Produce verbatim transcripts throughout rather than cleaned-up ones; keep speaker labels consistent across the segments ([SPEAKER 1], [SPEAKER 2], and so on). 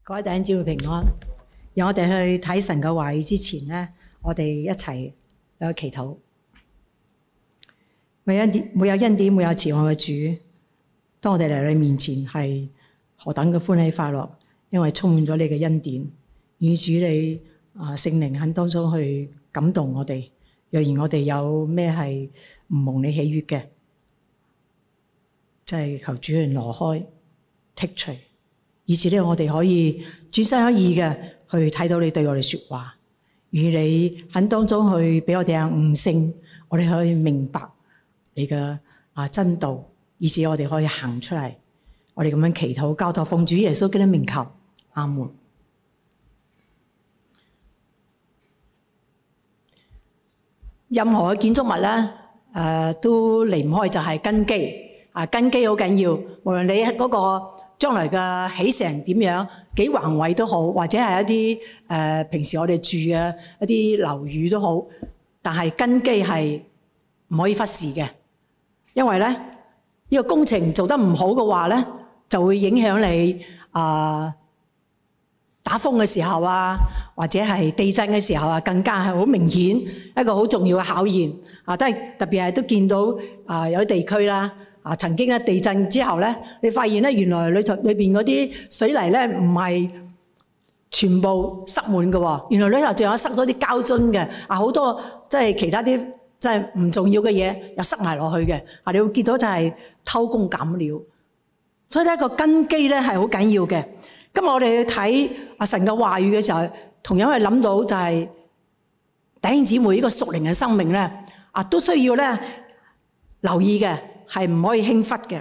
[SPEAKER 1] 各位弟兄姊妹平安。讓我哋去睇神嘅話語之前呢，我哋一齊去祈禱。沒有恩典、沒有恩典、沒有慈愛嘅主，當我哋嚟到你面前係何等嘅歡喜快樂，因為充滿咗你嘅恩典，與主你啊聖靈喺當中去感動我哋。若然我哋有咩係唔蒙你喜悅嘅，即係求主去挪開、剔除。以至呢，我哋可以轉身一意嘅去睇到你對我哋說話，與你喺當中去俾我哋嘅悟性，我哋可以明白你嘅啊真道，以至我哋可以行出嚟。我哋咁樣祈禱交託奉主耶穌基督名求，阿門。任何嘅建築物咧，誒、呃、都離唔開就係根基啊！根基好緊要，無論你嗰、那個。將來嘅起成點樣，幾宏偉都好，或者係一啲誒、呃、平時我哋住嘅一啲樓宇都好，但係根基係唔可以忽視嘅，因為咧呢、呢個工程做得唔好嘅話咧，就會影響你啊、呃、打風嘅時候啊，或者係地震嘅時候啊，更加係好明顯一個好重要嘅考驗啊！都係特別係都見到啊、呃、有啲地區啦。啊！曾經咧地震之後咧，你發現咧原來裏頭裏邊嗰啲水泥咧唔係全部塞滿嘅喎，原來裏頭仲有塞咗啲膠樽嘅啊！好多即係其他啲即係唔重要嘅嘢又塞埋落去嘅啊！你會見到就係偷工減料，所以呢個根基咧係好緊要嘅。今日我哋去睇阿神嘅話語嘅時候，同樣係諗到就係弟兄姊妹呢個屬靈嘅生命咧啊，都需要咧留意嘅。係唔可以輕忽嘅。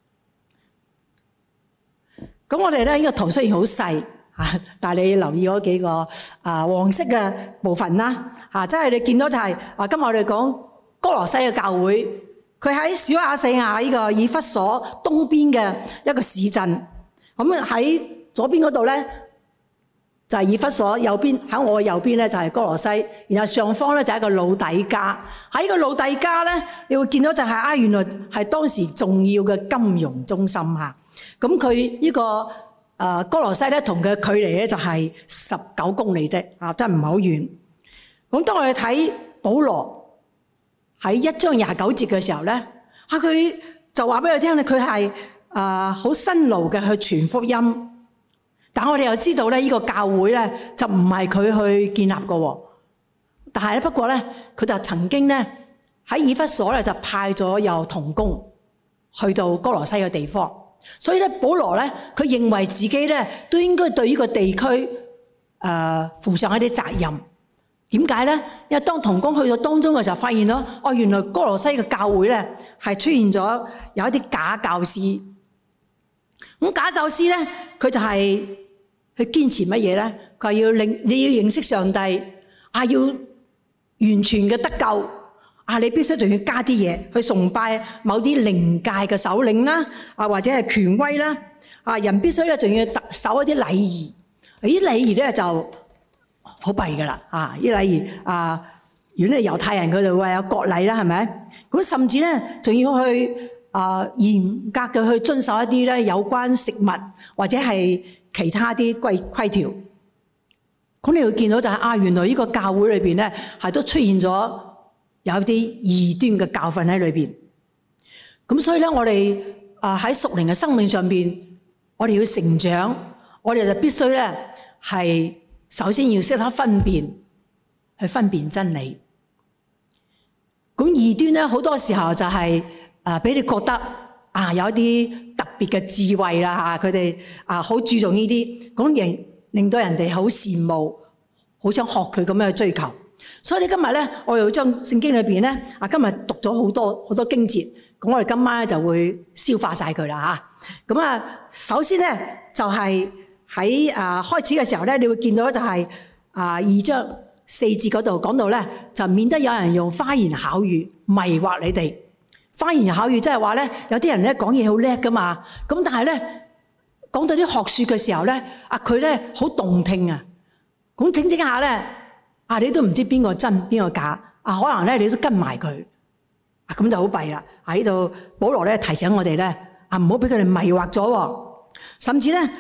[SPEAKER 1] 咁我哋咧呢個圖雖然好細嚇，但係你留意嗰幾個啊黃色嘅部分啦嚇，即係你見到就係啊，今日我哋講歌羅西嘅教會，佢喺小亞細亞呢個以弗所東邊嘅一個市鎮。咁喺左邊嗰度咧就係以弗所，右邊喺我嘅右邊咧就係歌羅西，然後上方咧就係一個老底嘉。喺呢個老底嘉咧，你會見到就係啊，原來係當時重要嘅金融中心嚇。咁佢呢個誒歌羅西咧，同佢嘅距離咧就係十九公里啫，啊，真係唔係好遠。咁當我哋睇保羅喺一章廿九節嘅時候咧，啊佢就話俾我聽咧，佢係誒好辛勞嘅去傳福音。但我哋又知道咧，呢個教會咧就唔係佢去建立嘅，但係咧不過咧，佢就曾經咧喺以弗所咧就派咗有同工去到歌羅西嘅地方，所以咧保羅咧佢認為自己咧都應該對呢個地區誒、呃、負上一啲責任。點解咧？因為當同工去到當中嘅時候，發現咗哦，原來歌羅西嘅教會咧係出現咗有一啲假教師。咁假教師咧，佢就係去堅持乜嘢咧？佢話要令你要認識上帝，啊要完全嘅得救，啊你必須仲要加啲嘢去崇拜某啲靈界嘅首領啦，啊或者係權威啦，啊人必須咧仲要守一啲禮儀，啲禮儀咧就好弊噶啦，啊啲禮儀啊，如果係猶太人佢哋會有國禮啦，係咪？咁甚至咧仲要去。啊、呃，嚴格嘅去遵守一啲咧有關食物或者係其他啲規規條。咁你會見到就係、是、啊，原來呢個教會裏邊咧係都出現咗有啲異端嘅教訓喺裏邊。咁所以咧，我哋啊喺屬靈嘅生命上邊，我哋要成長，我哋就必須咧係首先要識得分辨，去分辨真理。咁異端咧好多時候就係、是。啊！俾你覺得啊，有一啲特別嘅智慧啦嚇，佢哋啊好注重呢啲，咁令令到人哋好羨慕，好想學佢咁樣去追求。所以你今日咧，我又將聖經裏邊咧啊，今日讀咗好多好多經節，咁我哋今晚咧就會消化晒佢啦嚇。咁啊，首先咧就係喺啊開始嘅時候咧，你會見到就係啊二章四節嗰度講到咧，就免得有人用花言巧語迷惑你哋。花言巧語即係話咧，有啲人咧講嘢好叻噶嘛，咁但係咧講到啲學說嘅時候咧，啊佢咧好動聽啊，咁整整下咧，啊你都唔知邊個真邊個假，啊可能咧你都跟埋佢，啊咁就好弊啦。喺度保羅咧提醒我哋咧，啊唔好俾佢哋迷惑咗，甚至咧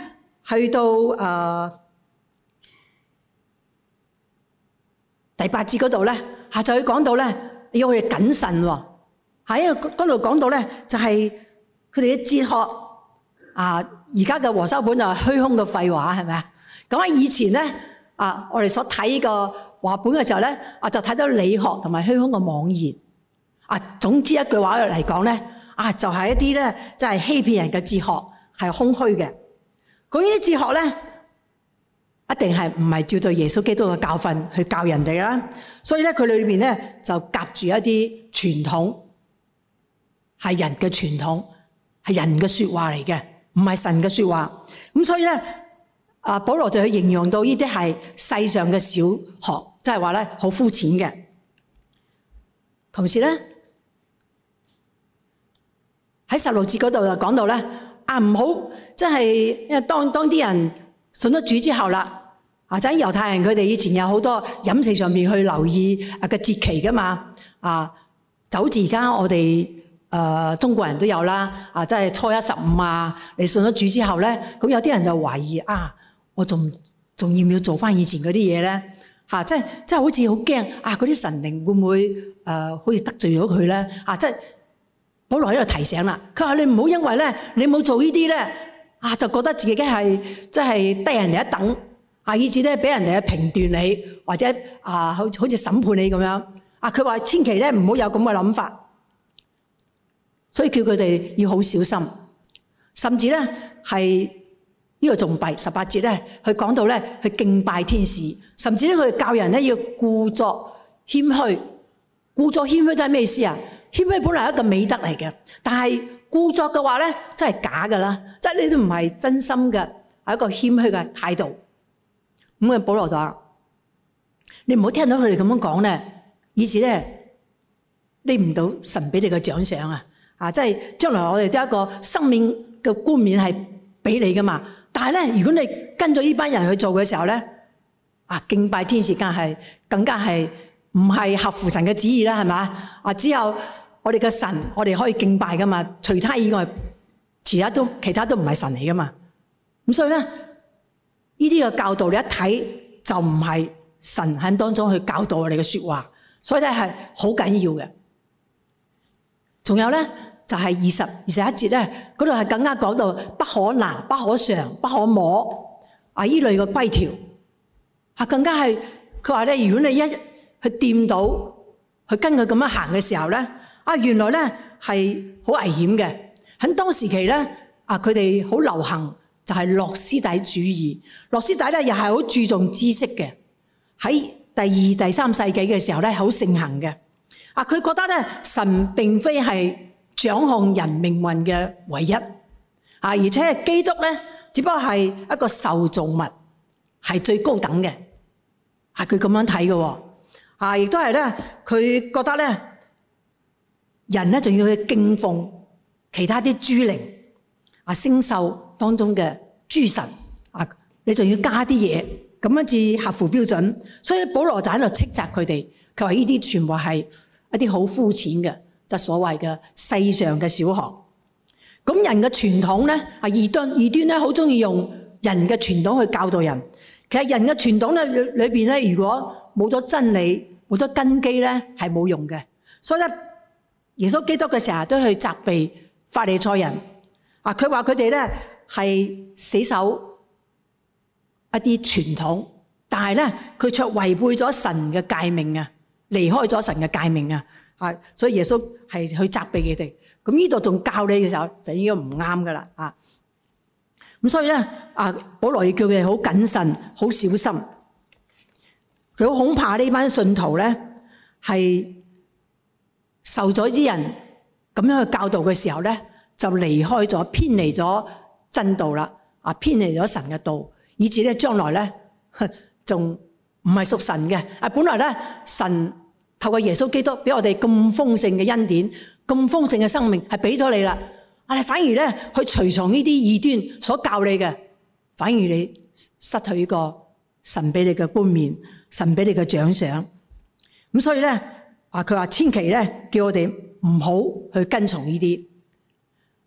[SPEAKER 1] 去到誒、呃、第八節嗰度咧，下就佢講到咧要佢哋謹慎喎。喺嗰度講到咧就係佢哋嘅哲學啊，而家嘅和修本就係虛空嘅廢話，係咪啊？咁喺以前咧啊，我哋所睇個話本嘅時候咧，啊就睇到理學同埋虛空嘅妄言啊。總之一句話嚟講咧，啊就係一啲咧即係欺騙人嘅哲學，係空虛嘅。咁呢啲哲學咧，一定係唔係照對耶穌基督嘅教訓去教人哋啦。所以咧，佢裏邊咧就夾住一啲傳統，係人嘅傳統，係人嘅說話嚟嘅，唔係神嘅說話。咁所以咧，啊保羅就去形容到呢啲係世上嘅小學，即係話咧好膚淺嘅。同時咧喺十六節嗰度就講到咧。啊，唔好，即係因為當當啲人信咗主之後啦，啊，即係猶太人佢哋以前有好多飲食上面去留意啊嘅節期噶嘛，啊，就好似而家我哋誒、呃、中國人都有啦，啊，即係初一十五啊，你信咗主之後咧，咁有啲人就懷疑啊，我仲仲要唔要做翻以前嗰啲嘢咧？嚇，即係即係好似好驚啊！嗰啲神靈會唔會誒、呃、好似得罪咗佢咧？啊，即係。保羅喺度提醒啦，佢話你唔好因為咧，你冇做呢啲咧，啊就覺得自己係即係低人哋一等，啊以至咧俾人哋去評斷你，或者啊好好似審判你咁樣。啊佢話千祈咧唔好有咁嘅諗法，所以叫佢哋要好小心，甚至咧係呢個仲弊十八節咧，佢講到咧去敬拜天使，甚至咧佢教人咧要故作謙虛，故作謙虛即係咩意思啊？謙虛本來係一個美德嚟嘅，但係故作嘅話咧，真係假噶啦，即係你都唔係真心嘅，係一個謙虛嘅態度。咁啊，保羅就話：你唔好聽到佢哋咁樣講咧，以至咧拎唔到神俾你嘅獎賞啊！啊，即係將來我哋都有一個生命嘅冠冕係俾你噶嘛。但係咧，如果你跟咗呢班人去做嘅時候咧，啊，敬拜天使更係更加係。唔係合乎神嘅旨意啦，係咪？啊，只有我哋嘅神，我哋可以敬拜噶嘛。除他以外，其他都其他都唔係神嚟噶嘛。咁所以咧，呢啲嘅教導你一睇就唔係神喺當中去教導我哋嘅說話，所以咧係好緊要嘅。仲有咧就係二十二十一節咧，嗰度係更加講到不可拿、不可嘗、不可摸啊呢類嘅規條，啊更加係佢話咧，如果你一去掂到，去跟佢咁樣行嘅時候咧，啊原來咧係好危險嘅。喺當時期咧，啊佢哋好流行就係諾斯底主義。諾斯底咧又係好注重知識嘅。喺第二、第三世紀嘅時候咧，好盛行嘅。啊佢覺得咧神並非係掌控人命運嘅唯一，啊而且基督咧只不過係一個受造物，係最高等嘅。係佢咁樣睇嘅喎。啊！亦都係咧，佢覺得咧，人咧仲要去敬奉其他啲諸靈啊、星宿當中嘅諸神啊，你仲要加啲嘢，咁樣至合乎標準。所以保羅就喺度斥責佢哋，佢話呢啲全部係一啲好膚淺嘅，就係所謂嘅世上嘅小學。咁人嘅傳統咧，啊異端異端咧，好中意用人嘅傳統去教導人。其實人嘅傳統咧裏裏邊咧，如果冇咗真理，冇咗根基咧，係冇用嘅。所以咧，耶穌基督嘅成日都去責備法利賽人。啊，佢話佢哋咧係死守一啲傳統，但係咧佢卻違背咗神嘅誡命啊，離開咗神嘅誡命啊。啊，所以耶穌係去責備佢哋。咁呢度仲教你嘅時候，就應該唔啱噶啦。啊，咁所以咧，啊保羅要叫佢哋好謹慎、好小心。佢好恐怕呢班信徒咧係受咗啲人咁樣去教導嘅時候咧，就離開咗、偏離咗真道啦，啊偏離咗神嘅道，以至咧將來咧仲唔係屬神嘅。啊，本來咧神透過耶穌基督俾我哋咁豐盛嘅恩典、咁豐盛嘅生命係俾咗你啦，啊反而咧去隨從呢啲異端所教你嘅，反而你失去呢個神俾你嘅冠冕。神俾你嘅獎賞，咁所以咧，啊佢話千祈咧叫我哋唔好去跟從呢啲。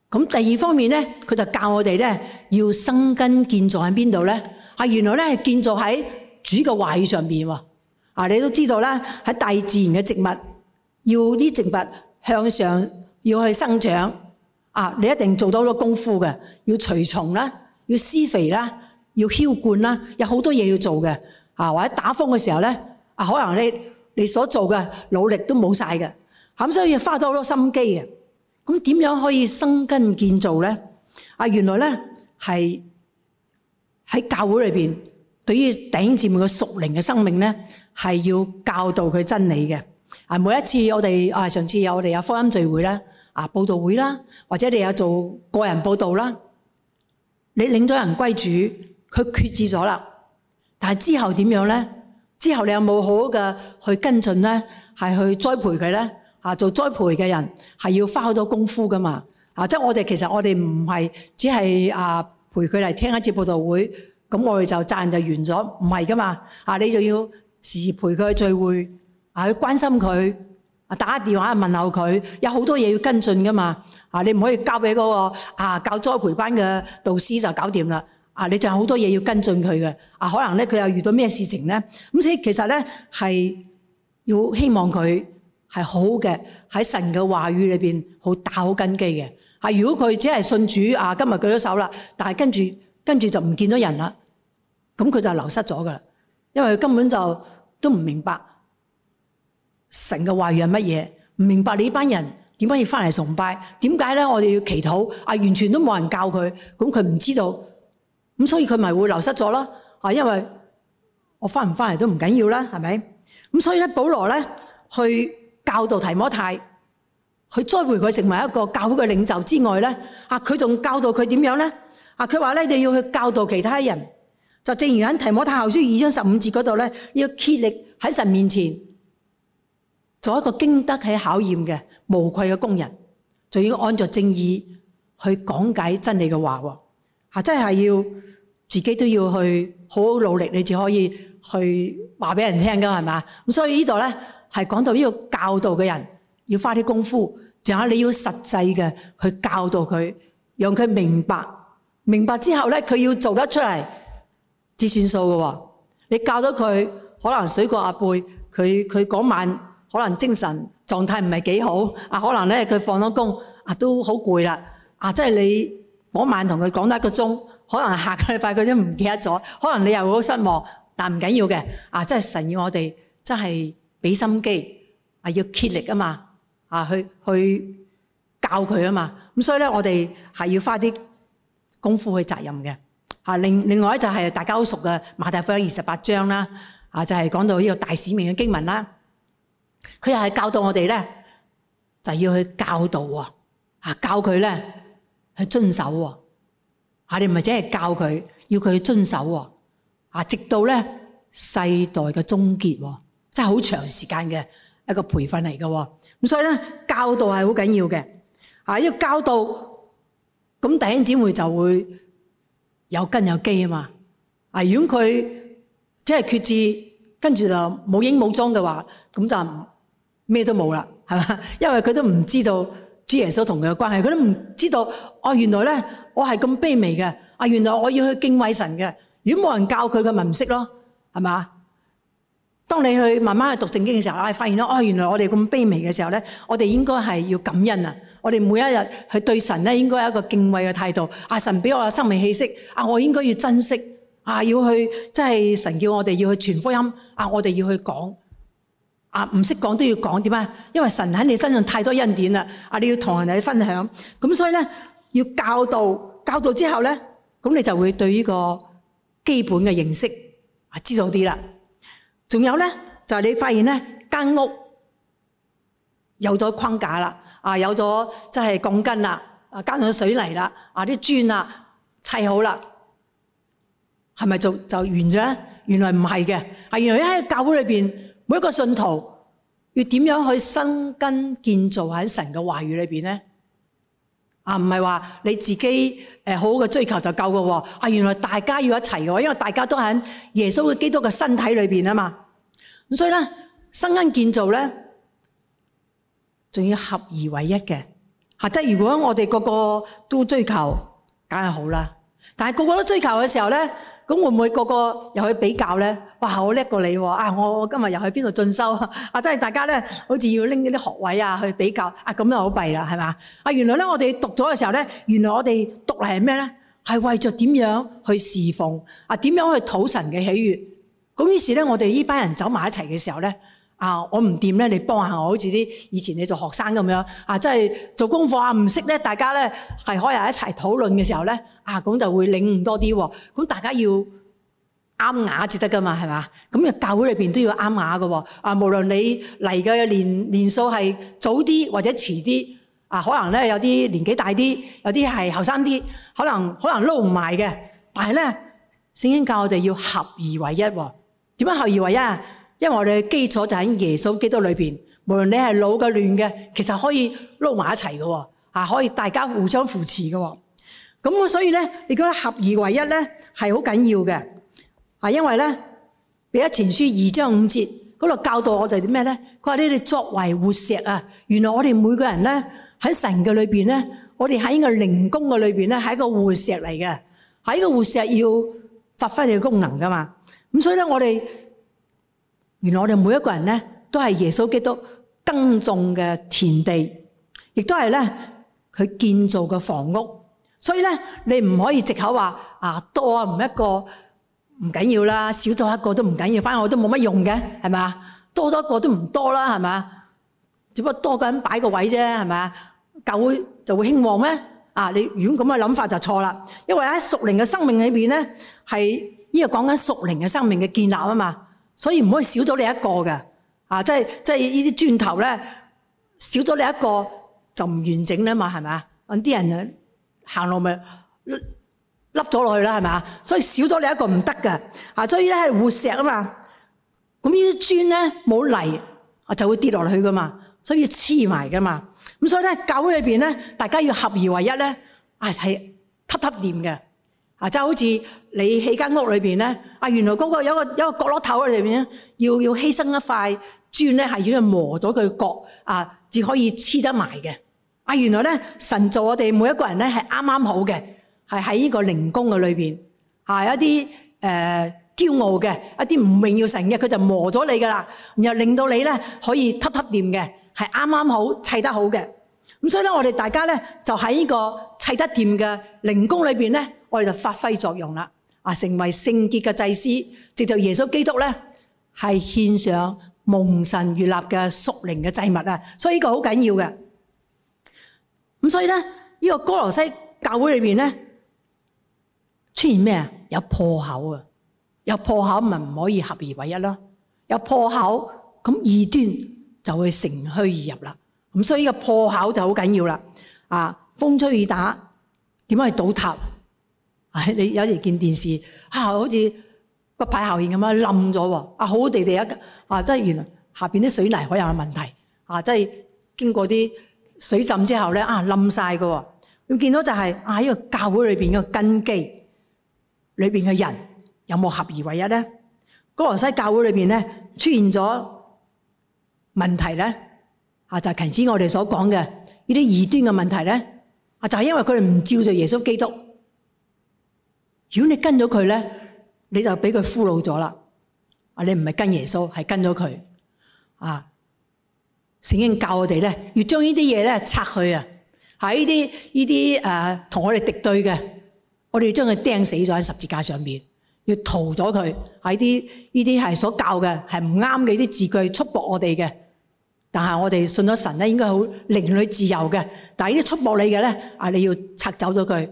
[SPEAKER 1] 咁第二方面咧，佢就教我哋咧要生根建造喺邊度咧？啊，原來咧係建造喺主嘅話語上邊喎。啊，你都知道啦，喺大自然嘅植物，要啲植物向上要去生長。啊，你一定做到好多功夫嘅，要除蟲啦，要施肥啦，要澆灌啦，有好多嘢要做嘅。啊，或者打風嘅時候咧，啊，可能你你所做嘅努力都冇晒嘅，咁所以要花咗好多心機嘅。咁點樣可以生根建造咧？啊，原來咧係喺教會裏邊，對於弟兄姊妹嘅屬靈嘅生命咧，係要教導佢真理嘅。啊，每一次我哋啊，上次有我哋有福音聚會啦，啊，佈道會啦，或者你有做個人佈道啦，你領咗人歸主，佢決志咗啦。但係之後點樣咧？之後你有冇好好嘅去跟進咧？係去栽培佢咧？啊，做栽培嘅人係要花好多功夫噶嘛？啊，即係我哋其實我哋唔係只係啊陪佢嚟聽一節佈道會，咁我哋就責任就完咗，唔係噶嘛？啊，你就要時時陪佢去聚會，啊，去關心佢，啊，打電話問候佢，有好多嘢要跟進噶嘛？啊，你唔可以交俾嗰個啊教栽培班嘅導師就搞掂啦。啊！你仲有好多嘢要跟進佢嘅，啊，可能咧佢又遇到咩事情咧？咁所以其實咧係要希望佢係好嘅，喺神嘅話語裏邊好打好根基嘅。啊，如果佢只係信主啊，今日舉咗手啦，但係跟住跟住就唔見咗人啦，咁佢就流失咗噶啦，因為佢根本就都唔明白神嘅話語係乜嘢，唔明白你呢班人點解要翻嚟崇拜，點解咧我哋要祈禱啊？完全都冇人教佢，咁佢唔知道。咁所以佢咪會流失咗咯？啊，因為我翻唔翻嚟都唔緊要啦，係咪？咁所以咧，保羅咧去教導提摩太，去栽培佢成為一個教會嘅領袖之外咧，啊，佢仲教導佢點樣咧？啊，佢話咧，你要去教導其他人，就正如喺提摩太後書二章十五節嗰度咧，要竭力喺神面前做一個經得起考驗嘅無愧嘅工人，就要按照正義去講解真理嘅話喎。啊，真係要自己都要去好好努力，你至可以去話俾人聽噶，係嘛？咁所以呢度咧係講到呢個教導嘅人要花啲功夫，仲有你要實際嘅去教導佢，讓佢明白，明白之後咧佢要做得出嚟至算數嘅。你教到佢可能水過鴨背，佢佢嗰晚可能精神狀態唔係幾好，啊，可能咧佢放咗工啊都好攰啦，啊，即係你。嗰晚同佢講得一個鐘，可能下個禮拜佢都唔記得咗，可能你又會好失望，但唔緊要嘅。啊，真係神要我哋真係俾心機，啊，要竭力啊嘛，啊去去教佢啊嘛。咁所以咧，我哋係要花啲功夫去責任嘅。啊，另另外咧就係大家好熟嘅馬太福音二十八章啦，啊就係講到呢個大使命嘅經文啦。佢又係教導我哋咧，就要去教導喎，啊教佢咧。去遵守喎，啊！你唔係只係教佢，要佢去遵守喎，啊！直到咧世代嘅終結喎，真係好長時間嘅一個培訓嚟嘅喎。咁所以咧，教導係好緊要嘅，啊！要教導，咁弟兄姊妹就會有根有基啊嘛。啊！如果佢即係決志，跟住就冇影冇蹤嘅話，咁就咩都冇啦，係嘛？因為佢都唔知道。主耶穌同佢嘅關係，佢都唔知道哦。原來咧，我係咁卑微嘅。啊，原來我要去敬畏神嘅。如果冇人教佢，佢咪唔識咯，係嘛？當你去慢慢去讀聖經嘅時候，啊，發現到哦，原來我哋咁卑微嘅時候咧，我哋應該係要感恩啊！我哋每一日去對神咧，應該有一個敬畏嘅態度。啊，神俾我嘅生命氣息，啊，我應該要珍惜。啊，要去即係神叫我哋要去傳福音。啊，我哋要去講。啊，唔識講都要講，點啊？因為神喺你身上太多恩典啦！啊，你要同人哋分享，咁所以咧要教導，教導之後咧，咁你就會對呢個基本嘅認識啊知道啲啦。仲有咧就係你發現咧間屋有咗框架啦，啊有咗即係鋼筋啦，啊加上水泥啦，啊啲磚啊砌好啦，係咪就就完咗咧？原來唔係嘅，啊原來喺教會裏邊。每一個信徒要點樣去生根建造喺神嘅話語裏邊咧？啊，唔係話你自己誒好好嘅追求就夠嘅喎。啊，原來大家要一齊嘅喎，因為大家都喺耶穌嘅基督嘅身體裏邊啊嘛。咁所以咧，生根建造咧，仲要合而為一嘅， 嚇！即係如果我哋個個都追求，梗係好啦。但係個個都追求嘅時候咧，咁會唔會個個又去比較咧？哇！我叻過你喎！啊，我今日又去邊度進修啊？即係大家咧，好似要拎啲學位啊去比較啊，咁就好弊啦，係嘛？啊，原來咧我哋讀咗嘅時候咧，原來我哋讀嚟係咩咧？係為咗點樣去侍奉啊？點樣去討神嘅喜悅？咁於是咧，我哋呢班人走埋一齊嘅時候咧。啊！我唔掂咧，你幫下我，好似啲以前你做學生咁樣啊，即係做功課啊，唔識咧，大家咧係可以一齊討論嘅時候咧，啊咁就會領悟多啲喎。咁大家要啱牙至得噶嘛，係嘛？咁啊，教會裏邊都要啱牙噶喎。啊，無論你嚟嘅年年數係早啲或者遲啲，啊，可能咧有啲年紀大啲，有啲係後生啲，可能可能撈唔埋嘅。但係咧，聖經教我哋要合而為一喎。點樣合而為一啊？因為我哋嘅基礎就喺耶穌基督裏邊，無論你係老嘅亂嘅，其實可以撈埋一齊嘅喎，啊可以大家互相扶持嘅喎。咁所以咧，你覺得合而為一咧係好緊要嘅，啊因為咧彼得前書二章五節嗰度教導我哋啲咩咧？佢話你哋作為活石啊，原來我哋每個人咧喺神嘅裏邊咧，我哋喺呢個靈宮嘅裏邊咧係一個活石嚟嘅，喺呢個活石要發揮你嘅功能噶嘛。咁所以咧，我哋原來我哋每一個人咧，都係耶穌基督耕種嘅田地，亦都係咧佢建造嘅房屋。所以咧，你唔可以藉口話啊多啊唔一個唔緊要啦，少咗一個都唔緊要，反正我都冇乜用嘅，係咪啊？多咗一個都唔多啦，係咪啊？只不過多個人擺個位啫，係咪啊？教會就會興旺咩？啊，你如果咁嘅諗法就錯啦，因為喺屬靈嘅生命裏邊咧，係呢個講緊屬靈嘅生命嘅建立啊嘛。所以唔可以少咗你一個嘅，啊，即係即係呢啲磚頭咧，少咗你一個就唔完整啦嘛，係咪啊？揾啲人啊行路咪凹咗落去啦，係咪啊？所以少咗你一個唔得嘅，啊，所以咧係活石啊嘛。咁呢啲磚咧冇泥啊就會跌落去噶嘛，所以黐埋噶嘛。咁所以咧教會裏邊咧，大家要合而為一咧，啊係揼揼掂嘅。啊，即係好似你起間屋裏邊咧，啊，原來嗰個有個有個角落頭喺裏邊咧，要要犧牲一塊磚咧，係要磨咗佢角啊，至可以黐得埋嘅。啊，原來咧神造我哋每一個人咧係啱啱好嘅，係喺呢個靈宮嘅裏邊，係一啲誒驕傲嘅，一啲唔榮耀神嘅，佢就磨咗你噶啦，然後令到你咧可以揼揼掂嘅，係啱啱好砌得好嘅。咁所以咧，我哋大家咧就喺呢個砌得掂嘅靈宮裏邊咧。我哋就發揮作用啦，啊，成為聖潔嘅祭司，藉着耶穌基督咧，係獻上蒙神悅納嘅屬靈嘅祭物啊！所以呢個好緊要嘅。咁所以咧，呢個哥羅西教會裏邊咧，出現咩啊？有破口啊！有破口咪唔可以合而為一咯。有破口，咁異端就會乘虛而入啦。咁所以呢個破口就好緊要啦。啊，風吹雨打，點樣去倒塌？你有時見電視啊，好似骨牌效應咁樣冧咗喎，啊好好地地一啊，即係原來下邊啲水泥可能有問題啊，即係經過啲水浸之後咧啊冧晒㗎喎。你見到就係啊呢個教會裏邊嘅根基裏邊嘅人有冇合而為一咧？哥羅西教會裏邊咧出現咗問題咧啊，就係頭先我哋所講嘅呢啲異端嘅問題咧啊，就係因為佢哋唔照着耶穌基督。如果你跟咗佢咧，你就俾佢俘虜咗啦。啊，你唔係跟耶穌，係跟咗佢。啊，聖經教我哋咧，要將呢啲嘢咧拆去啊。喺呢啲呢啲誒同我哋敵對嘅，我哋要將佢釘死咗喺十字架上面，要屠咗佢。喺啲呢啲係所教嘅係唔啱嘅呢啲字句，束縛我哋嘅。但係我哋信咗神咧，應該好靈裏自由嘅。但係呢啲束縛你嘅咧，啊，你要拆走咗佢。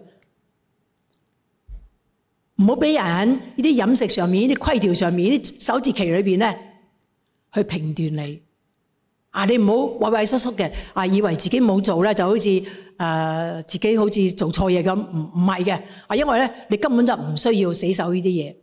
[SPEAKER 1] 唔好俾人喺呢啲飲食上面、呢啲規條上面、呢啲守節期裏邊咧，去評斷你。啊，你唔好畏畏縮縮嘅，啊，以為自己冇做咧，就好似誒、呃、自己好似做錯嘢咁，唔唔係嘅。啊，因為咧，你根本就唔需要死守呢啲嘢。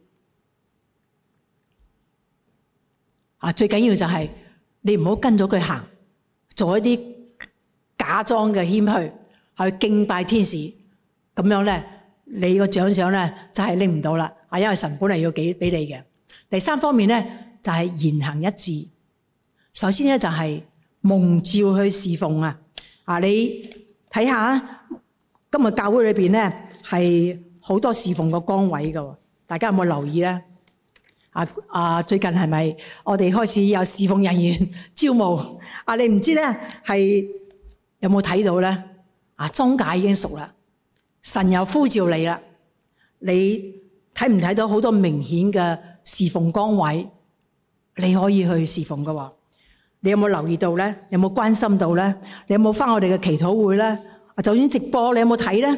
[SPEAKER 1] 啊，最緊要就係你唔好跟咗佢行，做一啲假裝嘅謙虛，去敬拜天使，咁樣咧。你個獎賞咧就係拎唔到啦，啊，因為神本嚟要給俾你嘅。第三方面咧就係言行一致。首先咧就係蒙召去侍奉啊，啊，你睇下今日教會裏邊咧係好多侍奉嘅崗位㗎，大家有冇留意咧？啊啊！最近係咪我哋開始有侍奉人員招募？啊，你唔知咧係有冇睇到咧？啊，莊稼已經熟啦，神又呼召你啦，你睇唔睇到好多明顯嘅侍奉崗位？你可以去侍奉㗎喎。你有冇留意到咧？有冇關心到咧？你有冇返我哋嘅祈禱會咧？啊，就算直播，你有冇睇咧？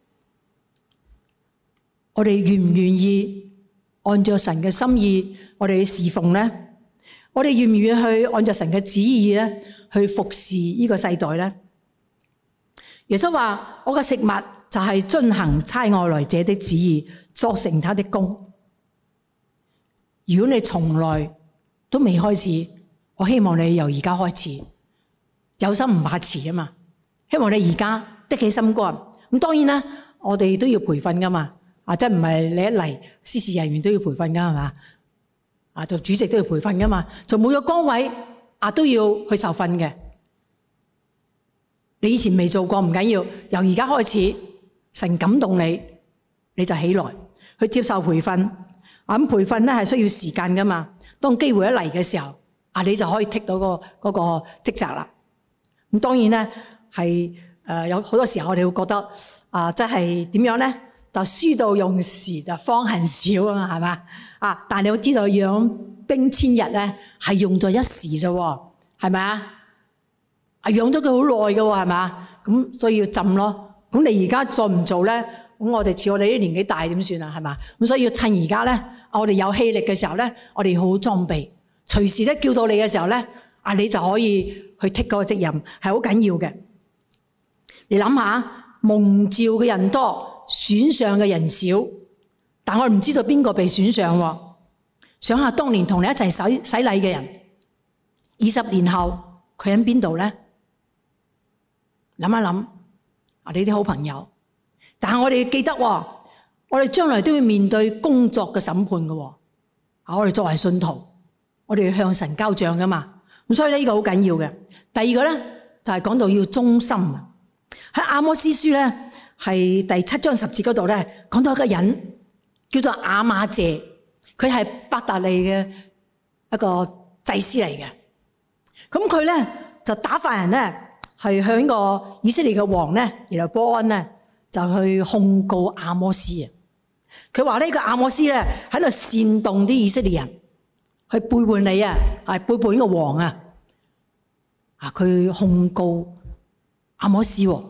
[SPEAKER 1] 我哋願唔願意按照神嘅心意，我哋去侍奉咧？我哋願唔願意去按照神嘅旨意咧，去服侍呢個世代咧？耶穌話：我嘅食物就係遵行差我來者的旨意，作成他的工。如果你從來都未開始，我希望你由而家開始，有心唔怕遲啊嘛！希望你而家的起心肝。咁當然啦，我哋都要培訓噶嘛。啊，即係唔係你一嚟，司事人員都要培訓噶係嘛？啊，做主席都要培訓噶嘛？做每個崗位啊都要去受訓嘅。你以前未做過唔緊要，由而家開始，神感動你，你就起來去接受培訓。啊，咁培訓咧係需要時間噶嘛？當機會一嚟嘅時候，啊，你就可以剔到嗰個嗰個職責啦。咁當然咧係誒有好多時候我哋會覺得啊，即係點樣咧？就書到用時就方恨少啊嘛，係嘛？啊！但係你要知道養兵千日咧，係用咗一時啫喎，係咪啊？啊，養咗佢好耐嘅喎，係嘛？咁所以要浸咯。咁你而家做唔做咧？咁我哋似我哋啲年紀大點算啊？係嘛？咁所以要趁而家咧，我哋有氣力嘅時候咧，我哋好好裝備，隨時咧叫到你嘅時候咧，啊你就可以去剔嗰個責任，係好緊要嘅。你諗下，蒙召嘅人多，選上嘅人少，但我唔知道邊個被選上喎。想下當年同你一齊洗洗禮嘅人，二十年後佢喺邊度咧？諗一諗啊！你啲好朋友，但係我哋記得，我哋將來都要面對工作嘅審判嘅。啊，我哋作為信徒，我哋要向神交賬噶嘛。咁所以咧，呢個好緊要嘅。第二個咧，就係講到要忠心。喺阿摩司書咧，係第七章十節嗰度咧，講到一個人叫做亞瑪謝，佢係伯特利嘅一個祭司嚟嘅。咁佢咧就打發人咧，係向呢個以色列嘅王咧，然後波安咧就去控告阿摩斯啊。佢話呢個阿摩斯咧喺度煽動啲以色列人去背叛你啊，係背叛呢個王啊。啊，佢控告阿摩斯喎。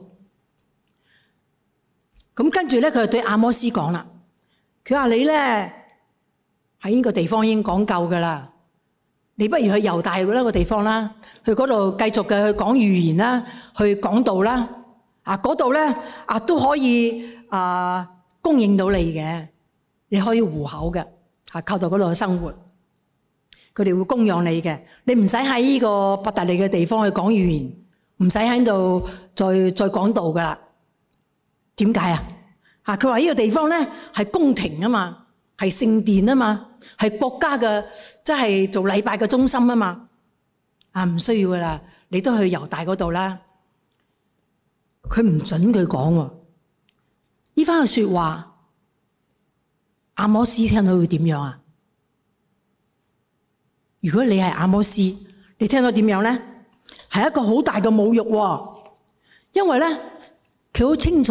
[SPEAKER 1] 咁跟住咧，佢就對阿摩斯講啦。佢話你咧喺呢個地方已經講夠噶啦，你不如去猶大嗰個地方啦，去嗰度繼續嘅去講預言啦，去講道啦。啊，嗰度咧啊都可以啊供應到你嘅，你可以糊口嘅，啊靠到嗰度生活，佢哋會供養你嘅。你唔使喺呢個伯特利嘅地方去講預言，唔使喺度再再講道噶啦。點解啊？啊，佢話呢個地方咧係宮廷啊嘛，係聖殿啊嘛，係國家嘅即係做禮拜嘅中心啊嘛。啊，唔需要噶啦，你都去猶大嗰度啦。佢唔准佢講喎。呢番嘅說話，阿摩斯聽到會點樣啊？如果你係阿摩斯，你聽到點樣咧？係一個好大嘅侮辱喎，因為咧。佢好清楚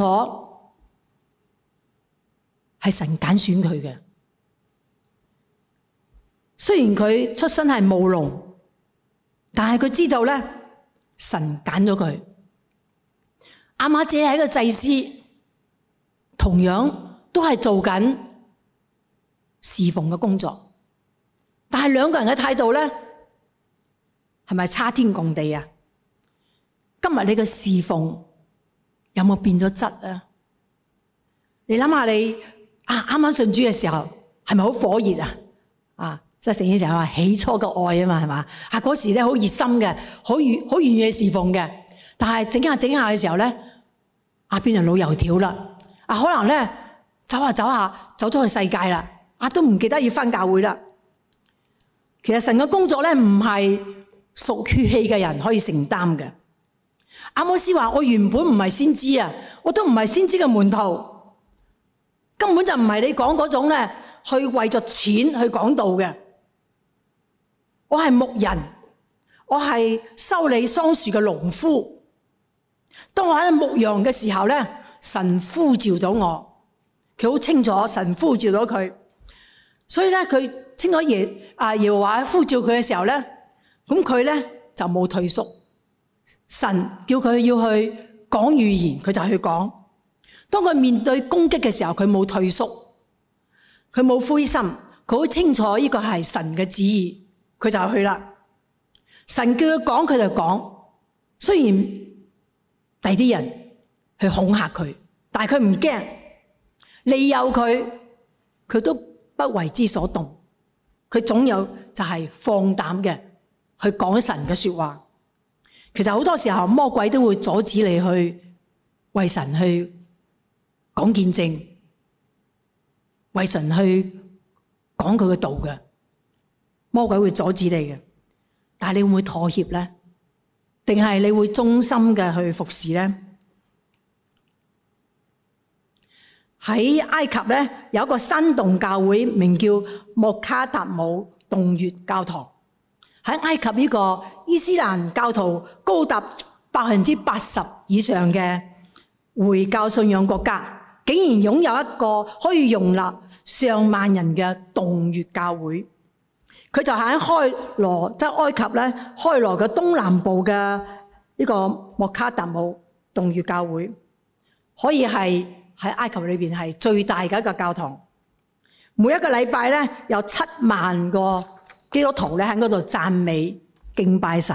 [SPEAKER 1] 係神揀選佢嘅，雖然佢出身係務農，但係佢知道咧，神揀咗佢。亞瑪謝係一個祭司，同樣都係做緊侍奉嘅工作，但係兩個人嘅態度咧，係咪差天共地啊？今日你嘅侍奉有冇變咗質啊？你諗下你啊啱啱信主嘅時候係咪好火熱啊？啊，即係聖經成日話起初嘅愛啊嘛，係嘛？啊嗰時咧好熱心嘅，好願好願意侍奉嘅。但係整下整下嘅時候咧，啊變成老油條啦。啊可能咧走下走下走咗去世界啦，啊都唔記得要返教會啦。其實神嘅工作咧唔係屬血氣嘅人可以承擔嘅。 阿摩斯話：我原本唔係先知啊，我都唔係先知嘅門徒，根本就唔係你講嗰種咧，去為咗錢去講道嘅。我係牧人，我係修理桑樹嘅農夫。當我喺牧羊嘅時候咧，神呼召咗我，佢好清楚神呼召咗佢，所以咧佢清楚耶啊耶和華呼召佢嘅時候咧，咁佢咧就冇退縮。神叫佢要去講預言，佢就去講。當佢面對攻擊嘅時候，佢冇退縮，佢冇灰心，佢好清楚呢個係神嘅旨意，佢就去啦。神叫佢講，佢就講。雖然第啲人去恐嚇佢，但係佢唔驚，利誘佢，佢都不為之所動。佢總有就係放膽嘅去講神嘅說話。其實好多時候魔鬼都會阻止你去為神去講見證，為神去講佢嘅道嘅。魔鬼會阻止你嘅，但係你會唔會妥協呢？定係你會忠心嘅去服侍呢？喺埃及咧有一個山洞教會，名叫莫卡達姆洞穴教堂。喺埃及呢個伊斯蘭教徒高達百分之八十以上嘅回教信仰國家，竟然擁有一個可以容納上萬人嘅洞穴教會。佢就喺開羅，即係埃及咧開羅嘅東南部嘅呢個莫卡達姆洞穴教會，可以係喺埃及裏邊係最大嘅一個教堂。每一個禮拜咧有七萬個基督徒咧喺嗰度讚美敬拜神，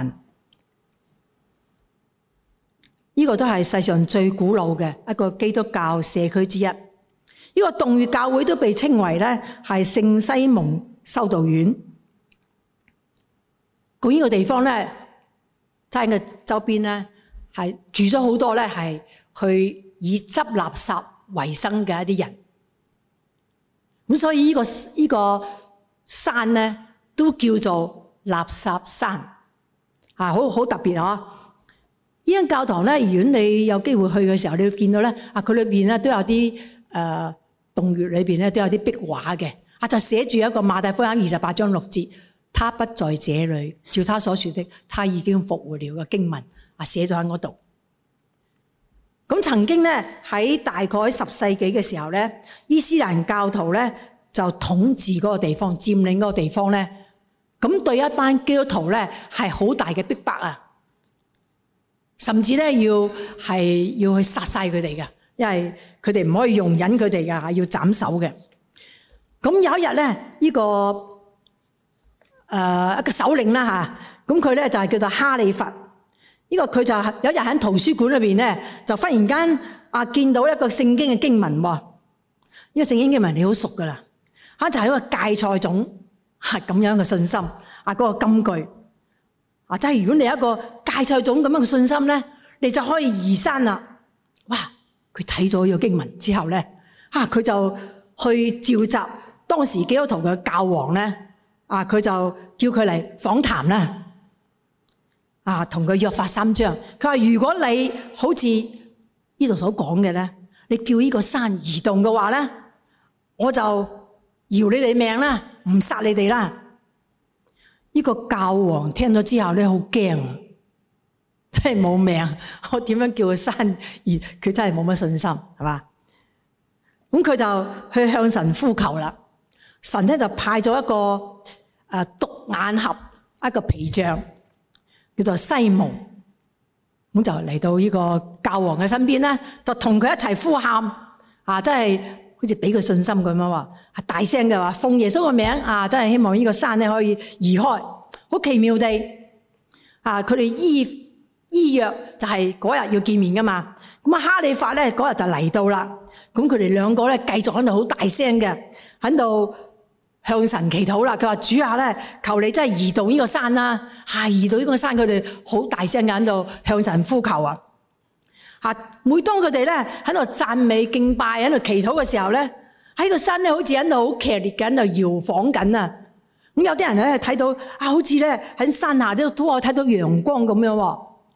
[SPEAKER 1] 呢、這個都係世上最古老嘅一個基督教社區之一。呢、這個洞穴教會都被稱為咧係聖西蒙修道院。咁呢個地方咧，喺個周邊咧係住咗好多咧係去以執垃圾為生嘅一啲人。咁所以呢、這個呢、這個山咧，都叫做垃圾山，啊，好好特別啊！呢間教堂咧，如果你有機會去嘅時候，你會見到咧，啊，佢裏邊咧都有啲誒、呃、洞穴裏邊咧都有啲壁畫嘅，啊，就寫住一個馬太福音二十八章六節，他不在這裏，照他所說的，他已經復活了嘅經文，啊，寫咗喺嗰度。咁曾經咧喺大概十世紀嘅時候咧，伊斯蘭教徒咧就統治嗰個地方，佔領嗰個地方咧。咁對一班基督徒咧係好大嘅逼迫啊，甚至咧要係要去殺晒佢哋嘅，因為佢哋唔可以容忍佢哋嘅，要斬首嘅。咁有一日咧，呢、這個誒、呃、一個首領啦嚇，咁佢咧就係叫做哈里佛。呢、這個佢就有一日喺圖書館裏邊咧，就忽然間啊見到一個聖經嘅經文喎。呢、這個聖經經文你好熟噶啦，嚇就係、是、一個芥菜種。係咁樣嘅信心啊！嗰個金句啊，即係如果你有一個芥菜種咁樣嘅信心咧，你就可以移山啦。哇！佢睇咗呢個經文之後咧，啊佢就去召集當時基督徒嘅教皇咧，啊佢就叫佢嚟訪談啦，啊同佢約法三章。佢話：如果你好似呢度所講嘅咧，你叫呢個山移動嘅話咧，我就饒你哋命啦。唔殺你哋啦！呢個教皇聽咗之後咧，好驚，真係冇命。我點樣叫佢刪？而佢真係冇乜信心，係嘛？咁佢就去向神呼求啦。神咧就派咗一個誒獨眼俠，一個皮匠，叫做西蒙。咁就嚟到呢個教皇嘅身邊咧，就同佢一齊呼喊啊！真係〜好似俾佢信心咁樣話，大聲嘅話奉耶穌個名啊！真係希望呢個山咧可以移開。好奇妙地啊！佢哋依依約就係嗰日要見面噶嘛。咁啊，哈里發咧嗰日就嚟到啦。咁佢哋兩個咧繼續喺度好大聲嘅喺度向神祈禱啦。佢話：主啊咧，求你真係移動呢個山啦！係移動呢個山，佢哋好大聲嘅喺度向神呼求啊！嚇！每當佢哋咧喺度讚美敬拜、喺度祈禱嘅時候咧，喺個山咧好似喺度好劇烈嘅喺度搖晃緊啊！咁有啲人咧睇到啊，好似咧喺山下都都可以睇到陽光咁樣喎。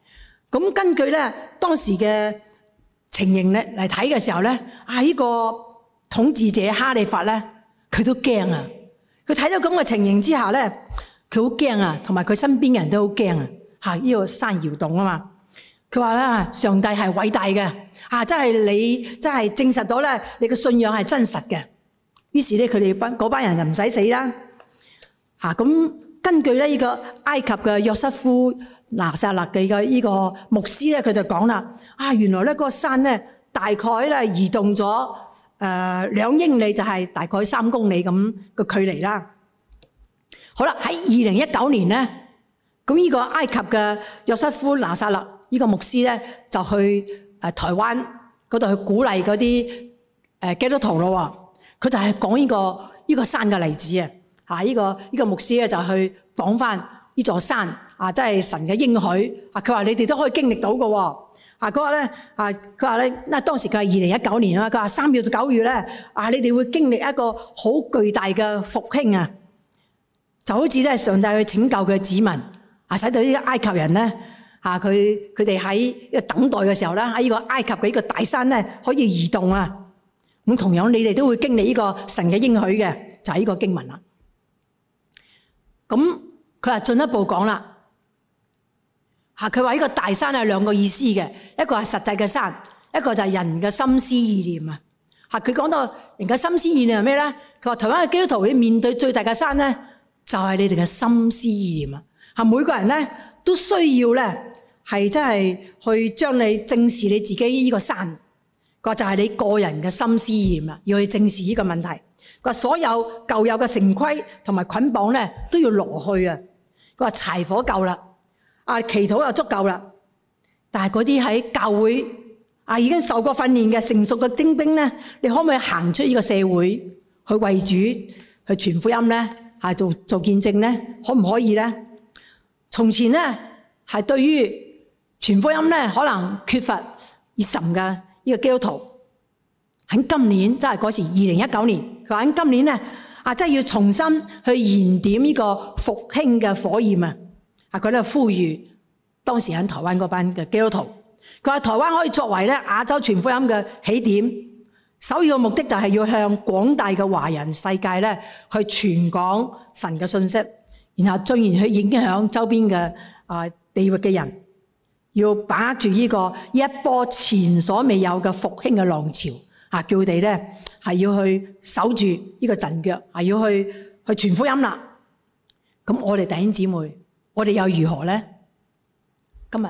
[SPEAKER 1] 咁根據咧當時嘅情形咧嚟睇嘅時候咧，啊呢個統治者哈利法咧，佢都驚啊！佢睇到咁嘅情形之下咧，佢好驚啊，同埋佢身邊嘅人都好驚啊！嚇，呢個山搖動啊嘛！佢話咧，上帝係偉大嘅，啊，真係你真係證實到咧，你嘅信仰係真實嘅。於是咧，佢哋班嗰班人就唔使死啦。嚇，咁根據咧呢個埃及嘅約瑟夫拿撒勒嘅嘅呢個牧師咧，佢就講啦，啊，原來咧嗰個山咧大概咧移動咗誒兩英里，就係大概三公里咁嘅距離啦。好啦，喺二零一九年咧，咁呢個埃及嘅約瑟夫拿撒勒呢個牧師咧就去誒台灣嗰度去鼓勵嗰啲誒基督徒咯。佢就係講呢個呢個山嘅例子啊！嚇，呢個呢個牧師咧就去講翻呢座山啊，即係神嘅應許啊！佢話你哋都可以經歷到嘅喎。啊，佢話咧啊，佢話咧，因為當時佢係二零一九年啊嘛，佢話三月到九月咧啊，你哋會經歷一個好巨大嘅復興啊！就好似咧上帝去拯救佢嘅子民啊，使到呢啲埃及人咧啊，佢佢哋喺等待嘅時候咧，喺呢個埃及嘅呢個大山咧可以移動啊！咁同樣你哋都會經歷呢個神嘅應許嘅，就係呢個經文啦。咁佢話進一步講啦。嚇！佢話呢個大山係兩個意思嘅，一個係實際嘅山，一個就係人嘅心思意念啊！嚇！佢講到人嘅心思意念係咩咧？佢話台灣嘅基督徒會面對最大嘅山咧，就係你哋嘅心思意念啊！嚇！每個人咧都需要咧係真係去將你正視你自己呢個山，佢話就係你個人嘅心思意念啊，要去正視呢個問題。佢話所有舊有嘅成規同埋捆綁咧都要挪去啊！佢話柴火夠啦。啊！祈禱就足夠啦，但係嗰啲喺教會啊已經受過訓練嘅成熟嘅精兵咧，你可唔可以行出呢個社會去為主去傳福音咧？係做做見證咧？可唔可以咧？從前咧係對於傳福音咧可能缺乏熱忱嘅呢個基督徒，喺今年即係嗰時二零一九年，佢話喺今年咧啊，真係要重新去燃點呢個復興嘅火焰啊！啊！佢咧呼籲當時喺台灣嗰班嘅基督徒，佢話台灣可以作為咧亞洲傳福音嘅起點，首要嘅目的就係要向廣大嘅華人世界咧去傳講神嘅信息，然後進而去影響周邊嘅啊地域嘅人，要把握住呢個一波前所未有嘅復興嘅浪潮啊！叫佢哋咧係要去守住呢個陣腳，係要去去傳福音啦。咁我哋弟兄姊妹。我哋又如何呢？今日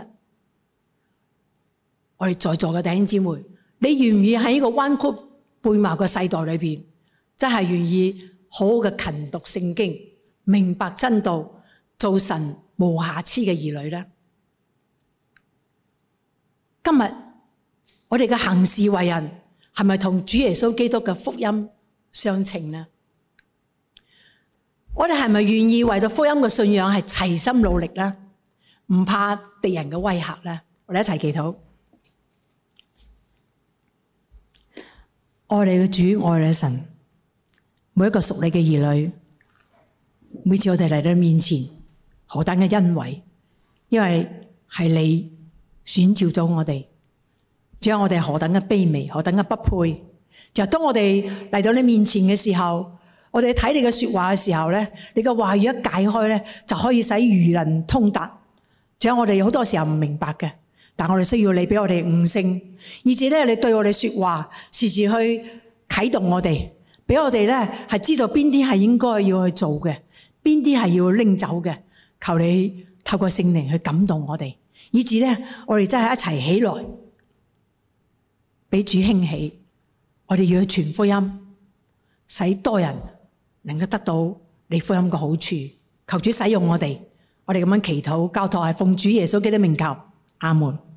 [SPEAKER 1] 我哋在座嘅弟兄姊妹，你願唔願意喺呢個彎曲悖謬嘅世代裏邊，真係願意好好嘅勤讀聖經，明白真道，做神無瑕疵嘅兒女呢？今日我哋嘅行事為人係咪同主耶穌基督嘅福音相稱呢？我哋係咪願意為到福音嘅信仰係齊心努力呢？唔怕敵人嘅威嚇呢？我哋一齊祈禱。愛你嘅主，愛你嘅神，每一個屬你嘅兒女，每次我哋嚟到面前，何等嘅恩惠，因為係你選召咗我哋，仲有我哋何等嘅卑微，何等嘅不配。就當我哋嚟到你面前嘅時候，我哋睇你嘅說話嘅時候咧，你嘅話語一解開咧，就可以使愚人通達。仲有我哋好多時候唔明白嘅，但我哋需要你俾我哋悟性，以至咧你對我哋說話，時時去啟動我哋，俾我哋咧係知道邊啲係應該要去做嘅，邊啲係要拎走嘅。求你透過聖靈去感動我哋，以至咧我哋真係一齊起來，俾主興起。我哋要去傳福音，使多人能夠得到你福音嘅好處，求主使用我哋，我哋咁樣祈禱交託係奉主耶穌基督名求，阿門。